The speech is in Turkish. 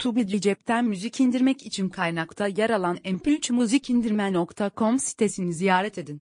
Tubi cepten müzik indirmek için kaynakta yer alan mp3muzikindirme.com sitesini ziyaret edin.